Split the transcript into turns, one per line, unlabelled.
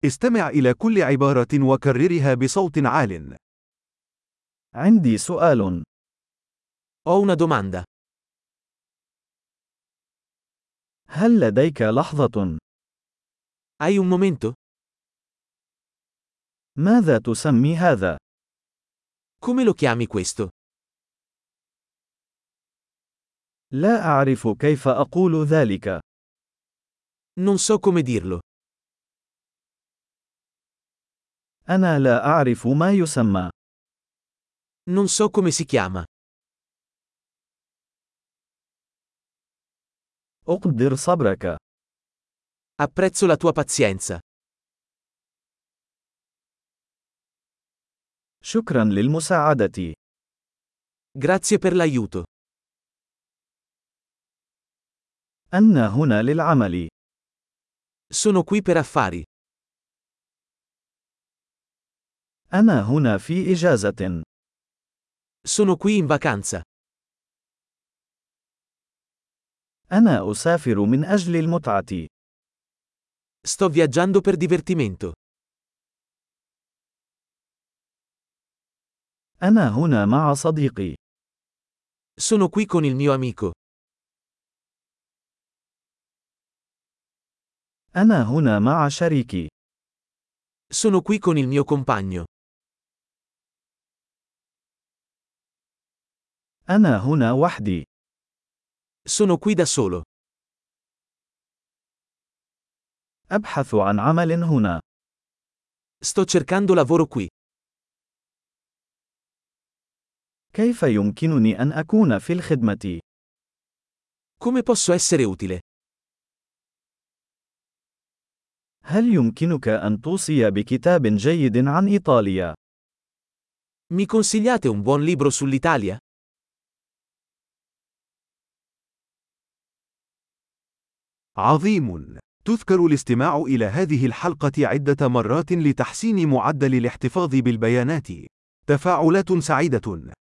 استمع إلى كل عبارة وكررها بصوت عال.
عندي سؤال.
Ho una domanda.
هل لديك لحظة؟
Hai un momento?
ماذا تسمي هذا؟
Come lo chiami questo?
لا أعرف كيف أقول ذلك.
Non so come dirlo.
أنا لا أعرف ما يسمى.
Non so come si chiama.
أقدر صبرك.
Apprezzo la tua pazienza.
شكرا للمساعدة.
Grazie per l'aiuto.
أنا هنا للعمل.
Sono qui per affari.
أنا هنا في إجازة.
Sono qui in vacanza.
أنا أسافر من أجل المتعة.
Sto viaggiando per divertimento.
أنا هنا مع صديقي.
Sono qui con il mio amico.
أنا هنا مع شريكي.
Sono qui con il mio compagno.
أنا هنا وحدي.
Sono qui da solo.
أبحث عن عمل هنا.
Sto cercando lavoro qui.
كيف يمكنني أن أكون في الخدمة؟
Come posso essere utile?
هل يمكنك أن توصي بكتاب جيد عن إيطاليا؟
Mi consigliate un buon libro sull'Italia?
عظيم. تذكر الاستماع إلى هذه الحلقة عدة مرات لتحسين معدل الاحتفاظ بالبيانات. تفاعلات سعيدة.